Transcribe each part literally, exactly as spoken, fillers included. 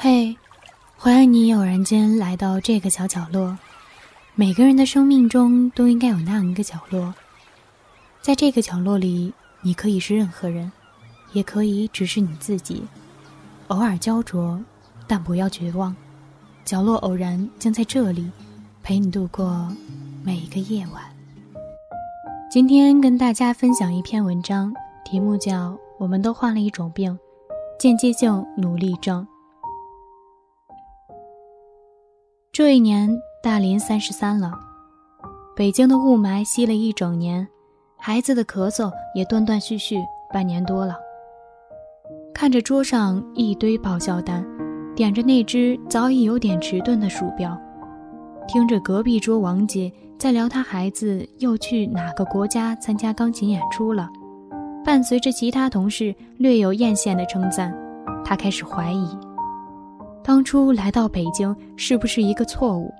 嘿，欢迎你偶然间来到这个小角落。每个人的生命中都应该有那样一个角落，在这个角落里，你可以是任何人，也可以只是你自己。偶尔焦灼，但不要绝望。角落偶然将在这里陪你度过每一个夜晚。今天跟大家分享一篇文章，题目叫我们都患了一种病，间接性努力症。这一年大林三十三了，北京的雾霾吸了一整年，孩子的咳嗽也断断续续半年多了。看着桌上一堆报销单，点着那只早已有点迟钝的鼠标，听着隔壁桌王姐在聊她孩子又去哪个国家参加钢琴演出了，伴随着其他同事略有艳羡的称赞，她开始怀疑当初来到北京是不是一个错误。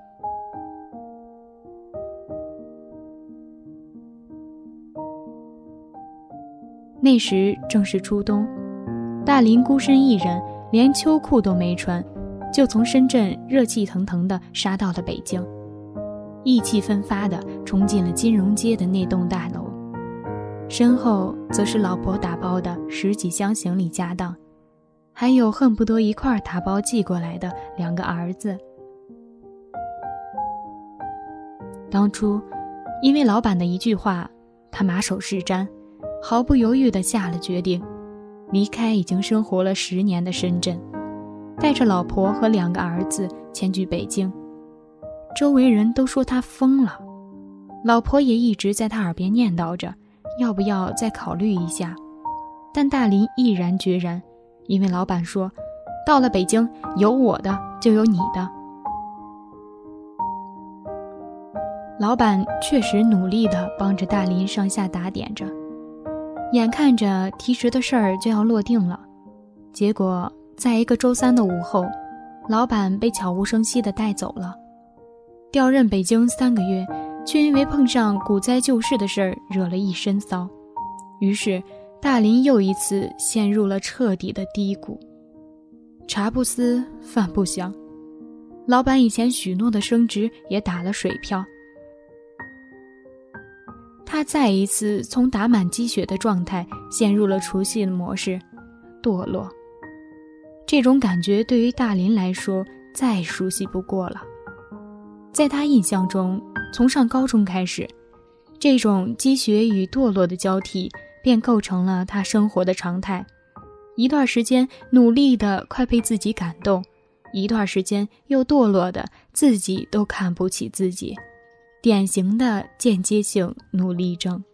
那时正是初冬，大林孤身一人，连秋裤都没穿，就从深圳热气腾腾地杀到了北京，意气奋发地冲进了金融街的那栋大楼，身后则是老婆打包的十几箱行李家当，还有恨不得一块打包寄过来的两个儿子。当初因为老板的一句话，他马首是瞻，毫不犹豫地下了决定，离开已经生活了十年的深圳，带着老婆和两个儿子迁居北京。周围人都说他疯了，老婆也一直在他耳边念叨着要不要再考虑一下，但大林毅然决然，因为老板说到了北京，有我的就有你的。老板确实努力地帮着大林上下打点着，眼看着提职的事儿就要落定了，结果在一个周三的午后，老板被悄无声息地带走了。调任北京三个月，却因为碰上股灾救市的事儿惹了一身骚，于是大林又一次陷入了彻底的低谷。茶不思饭不想，老板以前许诺的升职也打了水漂。他再一次从打满鸡血的状态陷入了除夕的模式，堕落。这种感觉对于大林来说再熟悉不过了。在他印象中，从上高中开始，这种积雪与堕落的交替便构成了他生活的常态。一段时间努力的快被自己感动，一段时间又堕落的自己都看不起自己，典型的间接性努力症。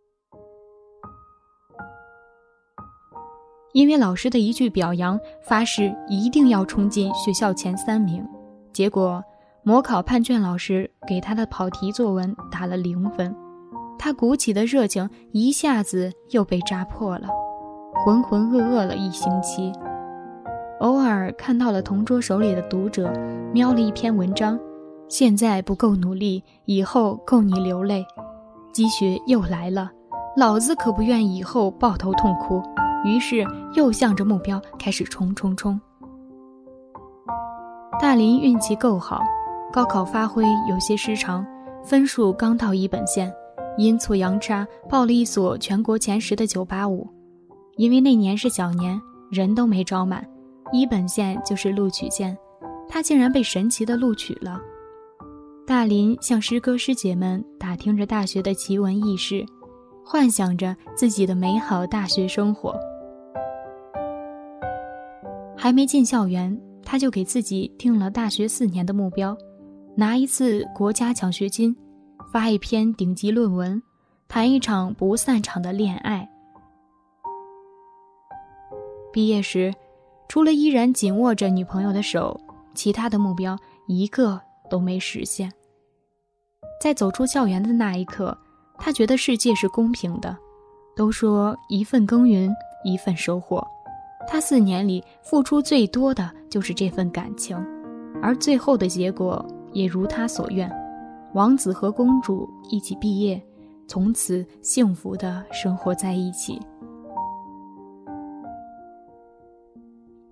因为老师的一句表扬，发誓一定要冲进学校前三名，结果模考判卷老师给他的跑题作文打了零分，他鼓起的热情一下子又被扎破了，浑浑噩噩了一星期。偶尔看到了同桌手里的读者瞄了一篇文章，现在不够努力，以后够你流泪，积雪又来了，老子可不愿以后抱头痛哭，于是又向着目标开始冲冲冲。大林运气够好，高考发挥有些失常，分数刚到一本线，阴错阳差报了一所全国前十的九八五。因为那年是小年，人都没招满，一本线就是录取线，他竟然被神奇的录取了。大林向师哥师姐们打听着大学的奇闻异事，幻想着自己的美好大学生活。还没进校园，他就给自己定了大学四年的目标，拿一次国家奖学金，发一篇顶级论文，谈一场不散场的恋爱。毕业时，除了依然紧握着女朋友的手，其他的目标一个都没实现。在走出校园的那一刻，他觉得世界是公平的，都说一份耕耘一份收获，他四年里付出最多的就是这份感情，而最后的结果也如他所愿，王子和公主一起毕业，从此幸福地生活在一起。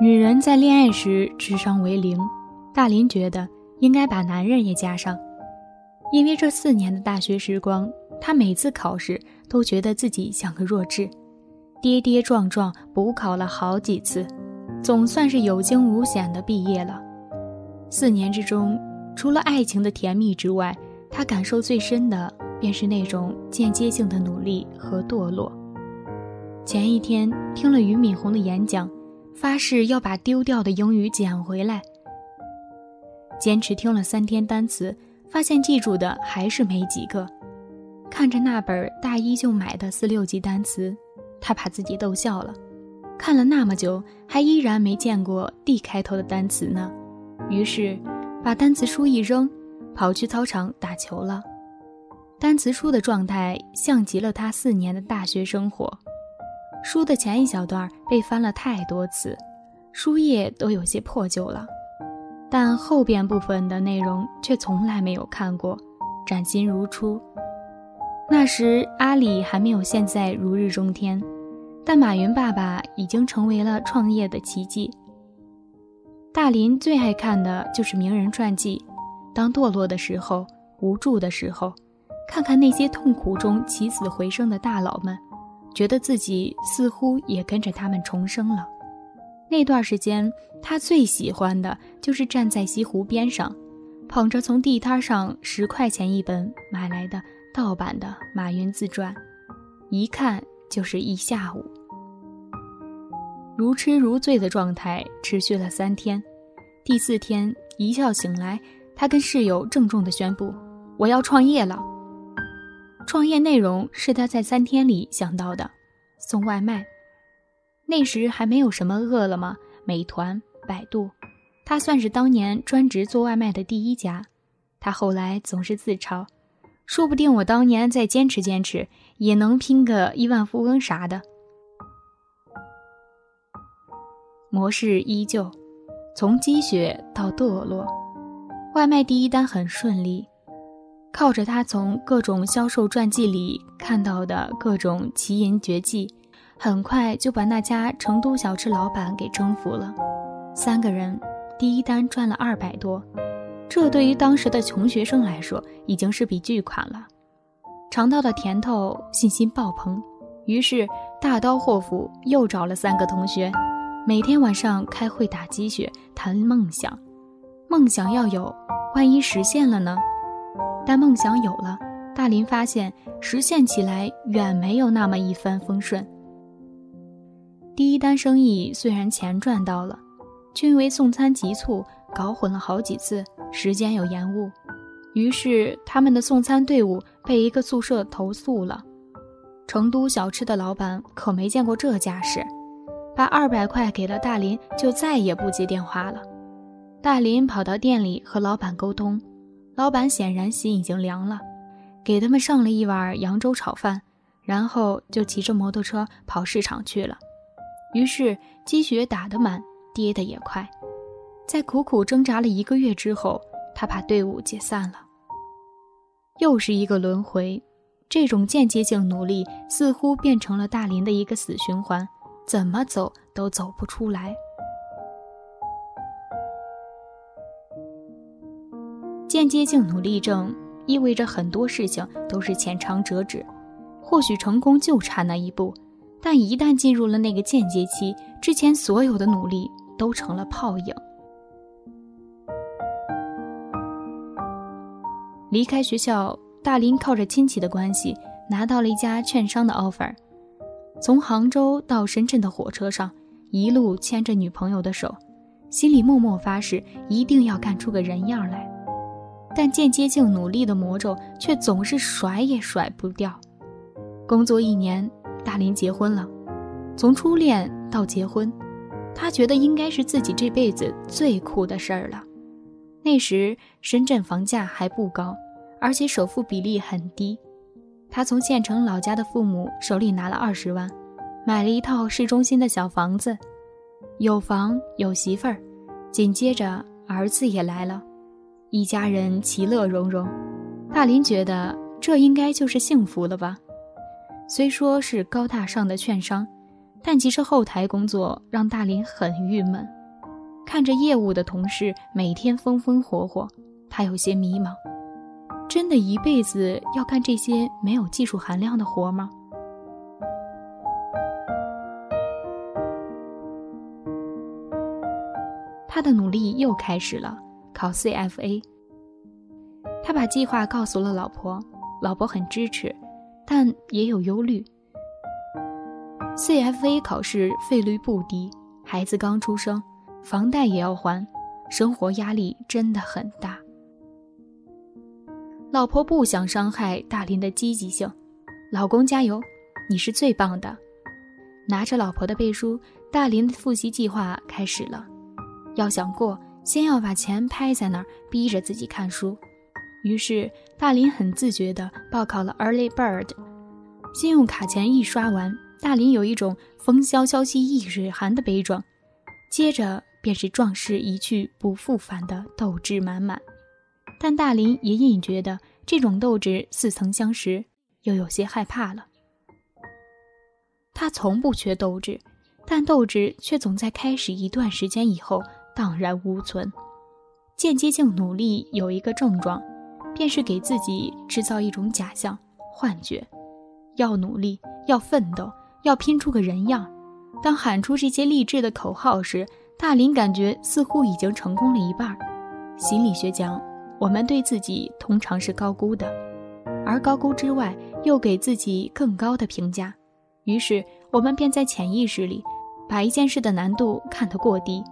女人在恋爱时智商为零，大林觉得应该把男人也加上。因为这四年的大学时光，她每次考试都觉得自己像个弱智，跌跌撞撞补考了好几次，总算是有惊无险地毕业了。四年之中，除了爱情的甜蜜之外，她感受最深的便是那种间接性的努力和堕落。前一天听了俞敏洪的演讲，发誓要把丢掉的英语捡回来。坚持听了三天单词，发现记住的还是没几个。看着那本大一就买的四六级单词，他把自己逗笑了。看了那么久，还依然没见过 D 开头的单词呢。于是把单词书一扔，跑去操场打球了。单词书的状态像极了他四年的大学生活。书的前一小段被翻了太多次，书页都有些破旧了，但后边部分的内容却从来没有看过，崭新如初。那时阿里还没有现在如日中天，但马云爸爸已经成为了创业的奇迹。大林最爱看的就是名人传记，当堕落的时候，无助的时候，看看那些痛苦中起死回生的大佬们，觉得自己似乎也跟着他们重生了。那段时间，他最喜欢的就是站在西湖边上，捧着从地摊上十块钱一本买来的盗版的马云自传，一看就是一下午。如痴如醉的状态持续了三天，第四天一觉醒来，他跟室友郑重地宣布：我要创业了。创业内容是他在三天里想到的，送外卖。那时还没有什么饿了么、美团、百度，他算是当年专职做外卖的第一家。他后来总是自嘲，说不定我当年再坚持坚持，也能拼个亿万富翁啥的。模式依旧，从积雪到堕落。外卖第一单很顺利，靠着他从各种销售传记里看到的各种奇淫绝技，很快就把那家成都小吃老板给征服了。三个人第一单赚了二百多，这对于当时的穷学生来说已经是笔巨款了。尝到的甜头，信心爆棚，于是大刀阔斧又找了三个同学，每天晚上开会打鸡血，谈梦想。梦想要有，万一实现了呢？但梦想有了，大林发现实现起来远没有那么一帆风顺。第一单生意虽然钱赚到了，却因为送餐急促，搞混了好几次，时间有延误。于是他们的送餐队伍被一个宿舍投诉了。成都小吃的老板可没见过这架势，把二百块给了大林，就再也不接电话了。大林跑到店里和老板沟通，老板显然心已经凉了，给他们上了一碗扬州炒饭，然后就骑着摩托车跑市场去了。于是积雪打得满，跌得也快。在苦苦挣扎了一个月之后，他把队伍解散了。又是一个轮回，这种间接性努力似乎变成了大林的一个死循环，怎么走都走不出来。间接性努力症意味着很多事情都是浅尝辄止，或许成功就差那一步，但一旦进入了那个间接期，之前所有的努力都成了泡影。离开学校，大林靠着亲戚的关系拿到了一家券商的 offer。 从杭州到深圳的火车上，一路牵着女朋友的手，心里默默发誓一定要干出个人样来。但间接性努力的魔咒却总是甩也甩不掉。工作一年，大林结婚了。从初恋到结婚，他觉得应该是自己这辈子最酷的事儿了。那时深圳房价还不高，而且首付比例很低。他从县城老家的父母手里拿了二十万，买了一套市中心的小房子，有房有媳妇儿，紧接着儿子也来了，一家人其乐融融。大林觉得这应该就是幸福了吧。虽说是高大上的券商， 但其实后台工作让大林很郁闷，看着业务的同事每天风风火火，他有些迷茫。真的一辈子要干这些没有技术含量的活吗？他的努力又开始了，考 C F A。 他把计划告诉了老婆，老婆很支持，但也有忧虑。 C F A 考试费率不低，孩子刚出生，房贷也要还，生活压力真的很大。老婆不想伤害大林的积极性，老公加油，你是最棒的。拿着老婆的背书，大林的复习计划开始了。要想过，先要把钱拍在那儿，逼着自己看书。于是大林很自觉地报考了 Early Bird。 信用卡钱一刷完，大林有一种风萧萧兮易水寒的悲壮，接着便是壮士一去不复返的斗志满满。但大林也隐觉得这种斗志似曾相识，又有些害怕了。他从不缺斗志，但斗志却总在开始一段时间以后荡然无存。间接性努力有一个症状，便是给自己制造一种假象、幻觉。要努力，要奋斗，要拼出个人样。当喊出这些励志的口号时，大林感觉似乎已经成功了一半。心理学讲，我们对自己通常是高估的，而高估之外又给自己更高的评价，于是我们便在潜意识里把一件事的难度看得过低。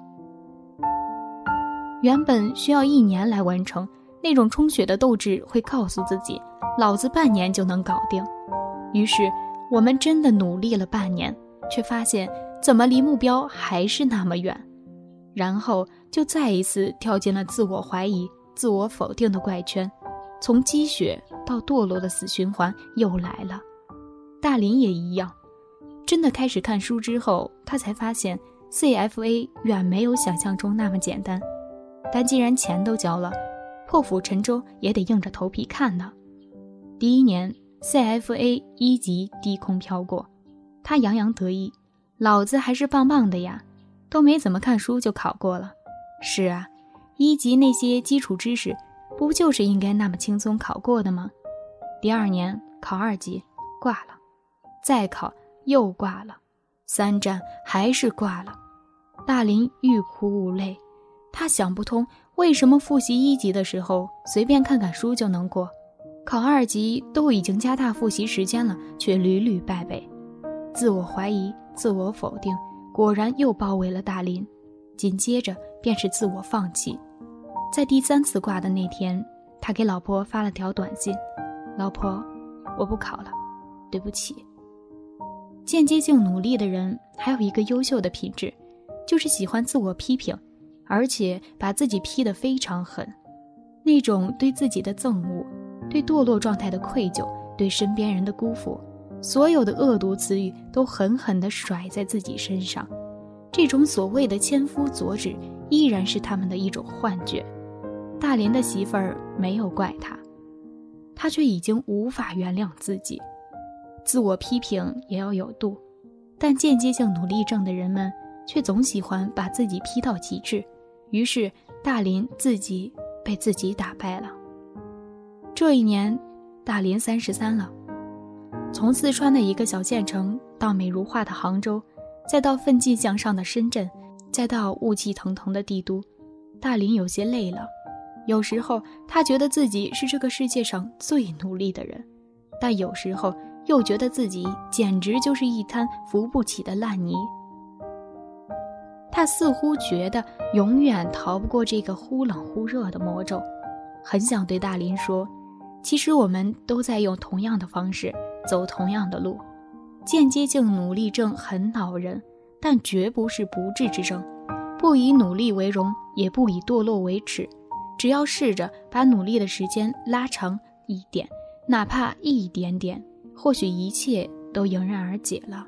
原本需要一年来完成，那种充血的斗志会告诉自己，老子半年就能搞定。于是我们真的努力了半年，却发现怎么离目标还是那么远，然后就再一次跳进了自我怀疑、自我否定的怪圈，从积雪到堕落的死循环又来了。大林也一样，真的开始看书之后，他才发现 C F A 远没有想象中那么简单。但既然钱都交了，破釜沉舟也得硬着头皮看呢。第一年 C F A 一级低空飘过，他洋洋得意，老子还是棒棒的呀，都没怎么看书就考过了。是啊，一级那些基础知识不就是应该那么轻松考过的吗？第二年考二级挂了，再考又挂了，三战还是挂了。大林欲哭无泪，他想不通为什么复习一级的时候随便看看书就能过，考二级都已经加大复习时间了，却屡屡败北。自我怀疑、自我否定果然又包围了大林，紧接着便是自我放弃。在第三次挂的那天，他给老婆发了条短信，老婆，我不考了，对不起。间接性努力的人还有一个优秀的品质，就是喜欢自我批评，而且把自己批得非常狠。那种对自己的憎恶，对堕落状态的愧疚，对身边人的辜负，所有的恶毒词语都狠狠地甩在自己身上。这种所谓的千夫所指，依然是他们的一种幻觉。大林的媳妇儿没有怪他，他却已经无法原谅自己。自我批评也要有度，但间接性努力症的人们却总喜欢把自己批到极致，于是大林自己被自己打败了。这一年，大林三十三了，从四川的一个小县城到美如画的杭州，再到奋进向上的深圳，再到雾气腾腾的帝都，大林有些累了。有时候他觉得自己是这个世界上最努力的人，但有时候又觉得自己简直就是一滩扶不起的烂泥。他似乎觉得永远逃不过这个忽冷忽热的魔咒，很想对大林说，其实我们都在用同样的方式走同样的路。间接性努力症很恼人，但绝不是不治之症。不以努力为荣，也不以堕落为耻，只要试着把努力的时间拉长一点，哪怕一点点，或许一切都迎刃而解了。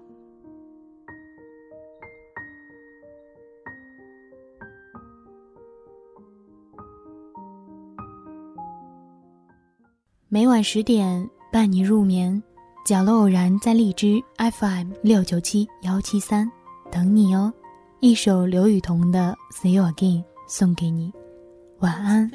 每晚十点伴你入眠， 角落偶然在荔枝 F M 六九七幺七三等你哦。一首刘雨桐的 See You Again 送给你，晚安。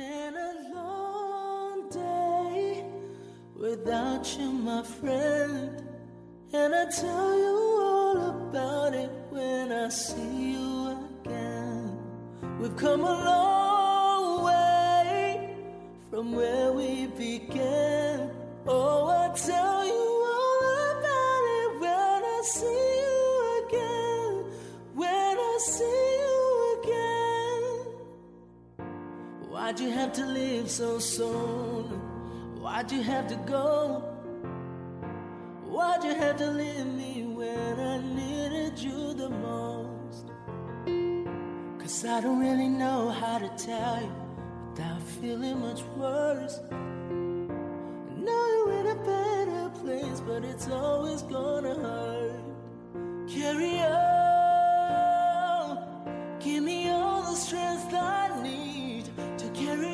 Without you, my friend, and I tell you all about it when I see you again. We've come a long way from where we began. Oh, I tell you all about it when I see you again. When I see you again. Why'd you have to leave so soon?Why'd you have to go? Why'd you have to leave me when I needed you the most? Cause I don't really know how to tell you without feeling much worse. I know you're in a better place, but it's always gonna hurt. Carry on, give me all the strength I need to carry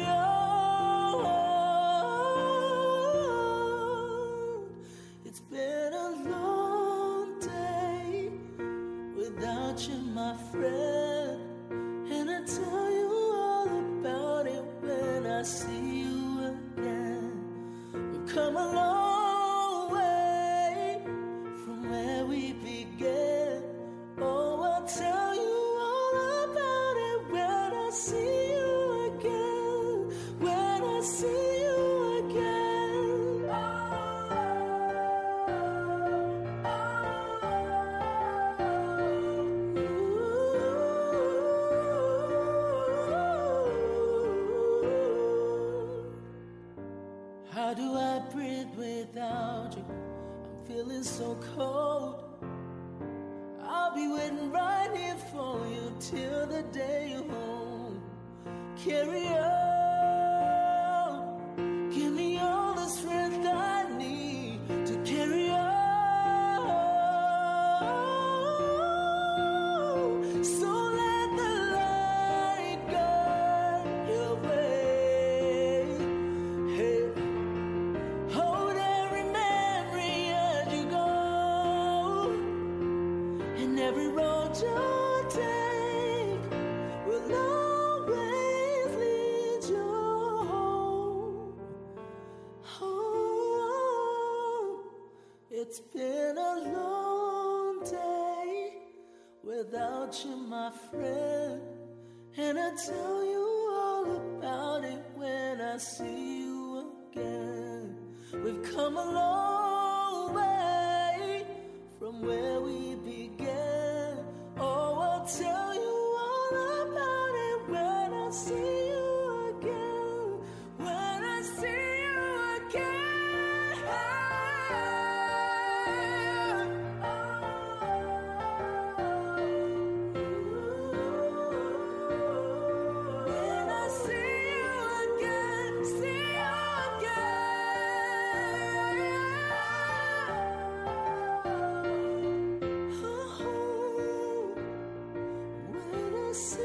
on.It's been a long day without you, my friend, and I tell you all about it when I see you again. We've come a long way from where we began. Oh, I'll tell you all about it when I see you again. When I see you again.How do I breathe without you? I'm feeling so cold. I'll be waiting right here for you till the day you're home. Carry on, give me all the strength I need to carry on. So let the light guide your way.Every road you take will always lead you home. Oh, it's been a long day without you, my friend, and I tell you all about it when I see you again. We've come a long way from where we began.Oh, I'll tell you all about it when I see you again. When I see you again. When I see you again, see you again.See